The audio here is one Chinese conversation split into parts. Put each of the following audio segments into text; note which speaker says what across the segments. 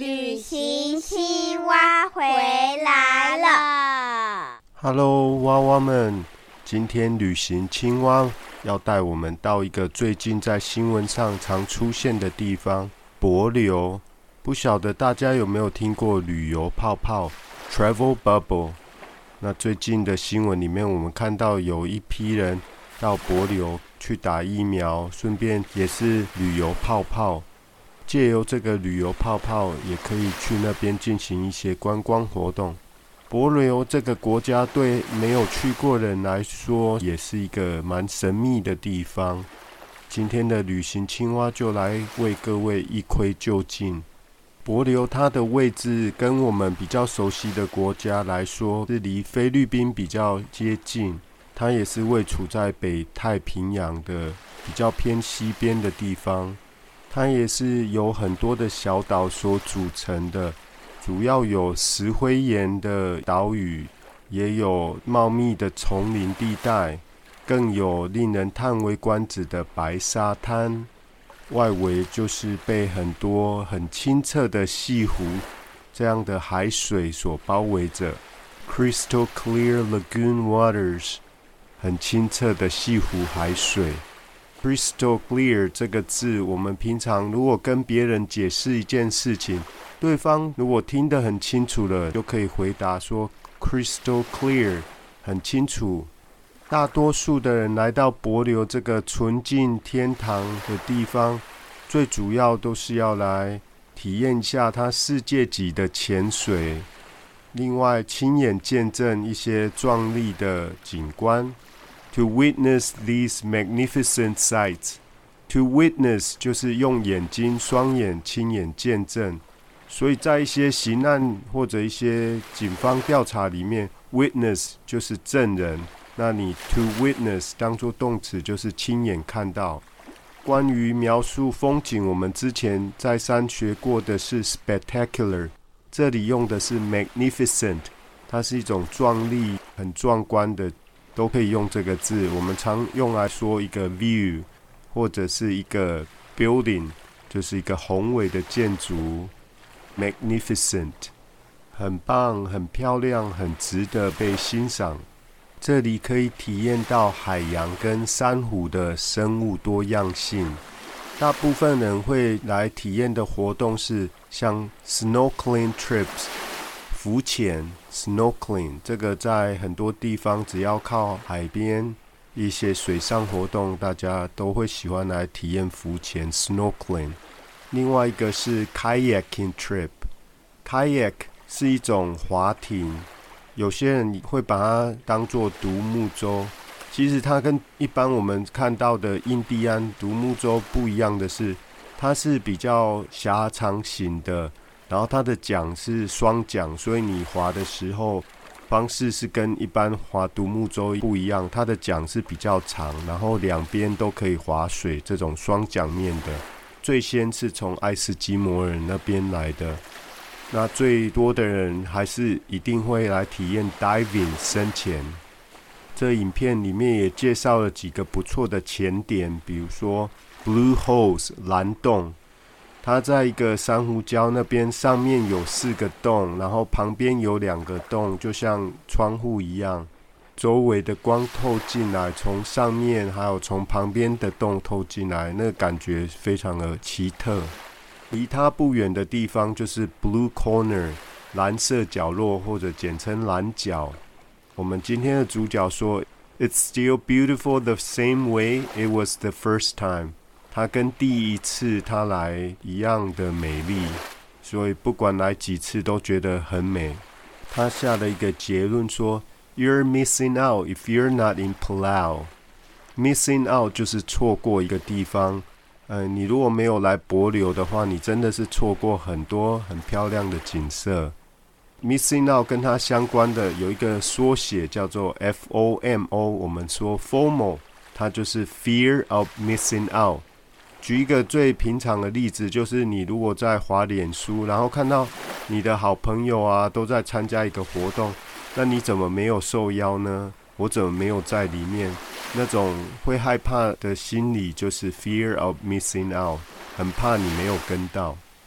Speaker 1: 旅行青蛙回来了。
Speaker 2: Hello， 蛙蛙们，今天旅行青蛙要带我们到一个最近在新闻上常出现的地方——帛琉。不晓得大家有没有听过旅游泡泡 （travel bubble）？那最近的新闻里面，我们看到有一批人到帛琉去打疫苗，顺便也是旅游泡泡。借由这个旅游泡泡，也可以去那边进行一些观光活动。帛琉这个国家对没有去过的人来说，也是一个蛮神秘的地方。今天的旅行青蛙就来为各位一窥究竟。帛琉它的位置跟我们比较熟悉的国家来说，是离菲律宾比较接近。它也是位处在北太平洋的比较偏西边的地方。它也是由很多的小岛所组成的，主要有石灰岩的岛屿，也有茂密的丛林地带，更有令人叹为观止的白沙滩。外围就是被很多很清澈的西湖这样的海水所包围着 Crystal clear lagoon waters， 很清澈的西湖海水。Crystal clear 这个字，我们平常如果跟别人解释一件事情，对方如果听得很清楚了，就可以回答说 Crystal clear， 很清楚。大多数的人来到帛琉这个纯净天堂的地方，最主要都是要来体验一下它世界级的潜水，另外亲眼见证一些壮丽的景观。To witness these magnificent sights. To witness 就是用眼睛、双眼亲眼见证。所以在一些刑案或者一些警方调查里面 ，witness 就是证人。那你 to witness 当作动词就是亲眼看到。关于描述风景，我们之前再三学过的是 spectacular， 这里用的是 magnificent， 它是一种壮丽、很壮观的。都可以用这个字，我们常用来说一个 view 或者是一个 building， 就是一个宏伟的建筑。magnificent 很棒、很漂亮、很值得被欣赏。这里可以体验到海洋跟珊瑚的生物多样性。大部分人会来体验的活动是像 snorkeling trips，浮潜 snorkeling， 这个在很多地方只要靠海边一些水上活动，大家都会喜欢来体验浮潜 snorkeling。 另外一个是 kayaking trip， kayak 是一种划艇，有些人会把它当作独木舟，其实它跟一般我们看到的印第安独木舟不一样的是，它是比较狭长型的，然后它的桨是双桨，所以你划的时候方式是跟一般划独木舟不一样，它的桨是比较长，然后两边都可以划水，这种双桨面的。最先是从爱斯基摩人那边来的，那最多的人还是一定会来体验 diving 深潜。这影片里面也介绍了几个不错的潜点，比如说 Blue Holes 蓝洞，它在一个珊瑚礁那边，上面有4个洞，然后旁边有2个洞，就像窗户一样，周围的光透进来，从上面还有从旁边的洞透进来，那个感觉非常的奇特。离它不远的地方就是 Blue Corner 蓝色角落，或者简称蓝角。我们今天的主角说 It's still beautiful the same way it was the first time，它跟第一次它来一样的美丽，所以不管来几次都觉得很美。他下了一个结论说 You're missing out if you're not in Palau。 Missing out 就是错过一个地方，你如果没有来帛琉的话，你真的是错过很多很漂亮的景色。Missing out 跟它相关的有一个缩写叫做 FOMO， 我们说 FOMO， 它就是 Fear of Missing Out。举一个最平常的例子，就是你如果在滑脸书，然后看到你的好朋友啊都在参加一个活动，那你怎么没有受邀呢？我怎么没有在里面？那种会害怕的心理就是 fear of missing out， 很怕你没有跟到。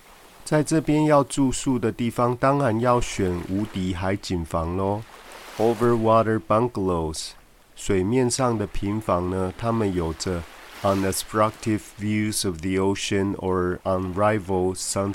Speaker 2: 在这边要住宿的地方，当然要选无敌海景房咯。 Overwater bungalows， 水面上的平房呢，它们有着 unobstructed views of the ocean or unrivaled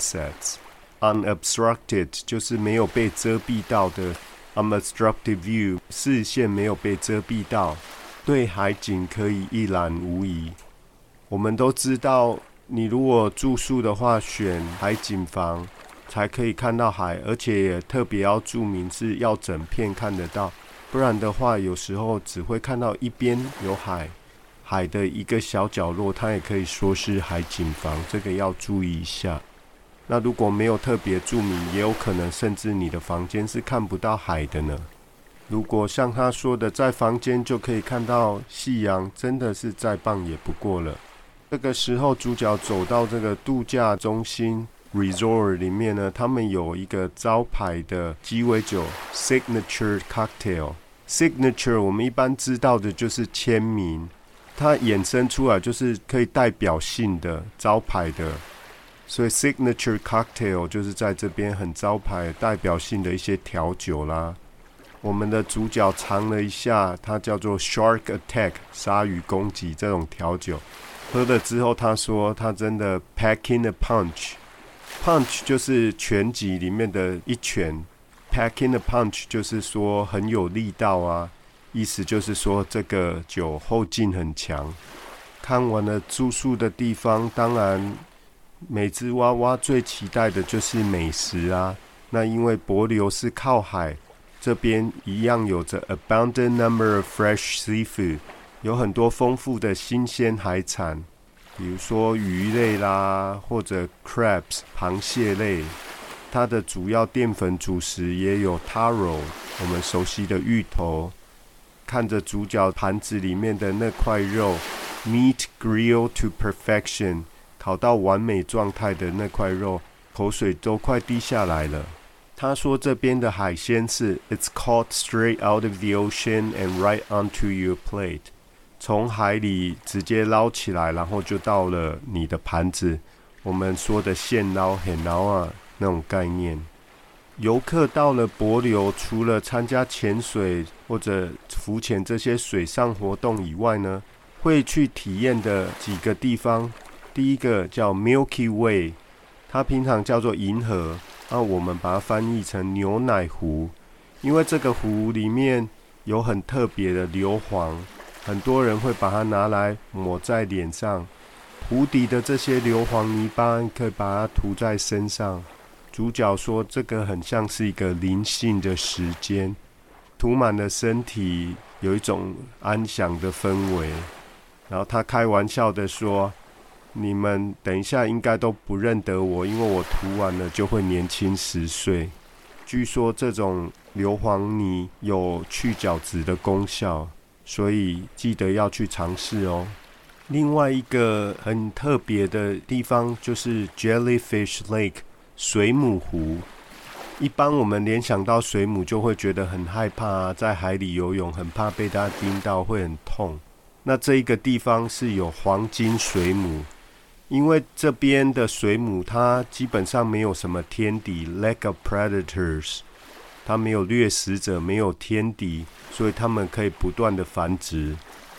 Speaker 2: sunsets。Unobstructed 就是没有被遮蔽到的， unobstructed view 视线没有被遮蔽到，对海景可以一览无遗。我们都知道，你如果住宿的话，选海景房才可以看到海，而且也特别要注明是要整片看得到，不然的话有时候只会看到一边有海，海的一个小角落，它也可以说是海景房，这个要注意一下。那如果没有特别注明，也有可能甚至你的房间是看不到海的呢。如果像他说的，在房间就可以看到夕阳，真的是再棒也不过了。这个时候主角走到这个度假中心 resort 里面呢，他们有一个招牌的鸡尾酒 signature cocktail。signature 我们一般知道的就是签名，它衍生出来就是可以代表性的招牌的，所以 signature cocktail 就是在这边很招牌代表性的一些调酒啦。我们的主角尝了一下，它叫做 Shark Attack 鲨鱼攻击这种调酒，喝了之后他说他真的 packing a punch。 punch 就是拳击里面的一拳， packing a punch 就是说很有力道啊，意思就是说这个酒后劲很强。看完了住宿的地方，当然每只娃娃最期待的就是美食啊。那因为帛琉是靠海，这边一样有着 abundant number of fresh seafood， 有很多丰富的新鲜海产，比如说鱼类啦，或者 crabs 螃蟹类。它的主要淀粉主食也有 taro 我们熟悉的芋头。看着主角盘子里面的那块肉 meat grilled to perfection， 烤到完美状态的那块肉，口水都快滴下来了。他说这边的海鲜是 It's caught straight out of the ocean and right onto your plate， 从海里直接捞起来，然后就到了你的盘子。我们说的现捞现捞啊那种概念。游客到了帛琉，除了参加潜水或者浮潜这些水上活动以外呢，会去体验的几个地方，第一个叫 Milky Way， 它平常叫做银河，我们把它翻译成牛奶湖，因为这个湖里面有很特别的硫磺，很多人会把它拿来抹在脸上。湖底的这些硫磺泥巴可以把它涂在身上。主角说这个很像是一个灵性的时间，涂满了身体，有一种安详的氛围。然后他开玩笑的说，你们等一下应该都不认得我，因为我涂完了就会年轻10岁。据说这种硫磺泥有去角质的功效，所以记得要去尝试哦。另外一个很特别的地方就是 Jellyfish Lake 水母湖。一般我们联想到水母就会觉得很害怕啊，在海里游泳很怕被它叮到会很痛。那这一个地方是有黄金水母，因为这边的水母它基本上没有什么天敌 lack of predators， 它没有掠食者，没有天敌，所以它们可以不断的繁殖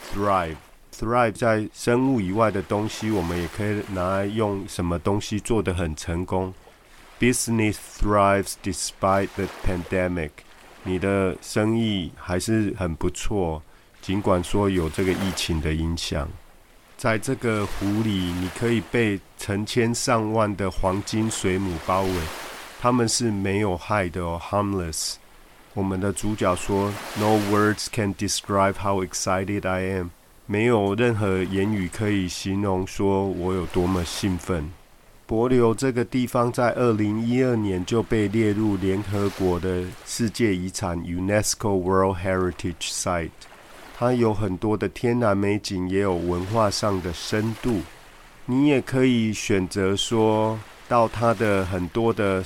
Speaker 2: thrive 在生物以外的东西，我们也可以拿来用什么东西做得很成功。 Business thrives despite the pandemic， 你的生意还是很不错，尽管说有这个疫情的影响。在这个湖里，你可以被成千上万的黄金水母包围，它们是没有害的哦 harmless。 我们的主角说 No words can describe how excited I am， 没有任何言语可以形容说我有多么兴奋。帛琉这个地方在2012年就被列入联合国的世界遗产 UNESCO World Heritage Site， 它有很多的天然美景，也有文化上的深度。你也可以选择说到它的很多的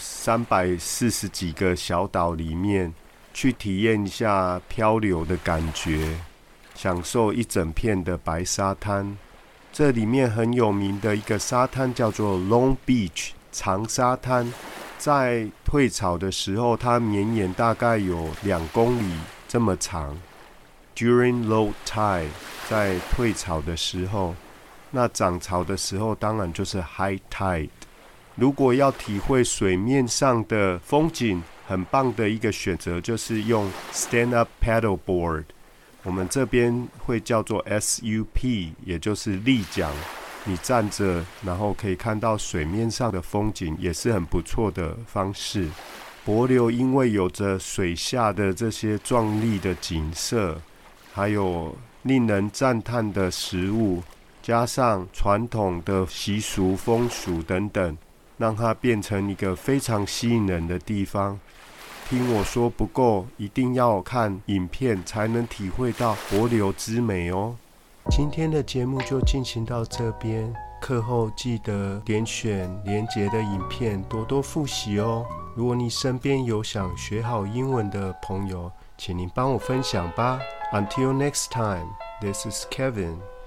Speaker 2: 340几个小岛里面去体验一下漂流的感觉，享受一整片的白沙滩。这里面很有名的一个沙滩叫做 Long Beach 长沙滩，在退潮的时候，它绵延大概有2公里这么长。During low tide， 在退潮的时候，那涨潮的时候当然就是 high tide。如果要体会水面上的风景，很棒的一个选择就是用 stand up paddleboard， 我们这边会叫做 SUP， 也就是立桨。你站着，然后可以看到水面上的风景，也是很不错的方式。帛琉因为有着水下的这些壮丽的景色，还有令人赞叹的食物，加上传统的习俗风俗等等，让它变成一个非常吸引人的地方。听我说不够，一定要看影片才能体会到帛琉之美哦。今天的节目就进行到这边，课后记得点选连结的影片多多复习哦。如果你身边有想学好英文的朋友，请您帮我分享吧。Until next time, this is Kevin.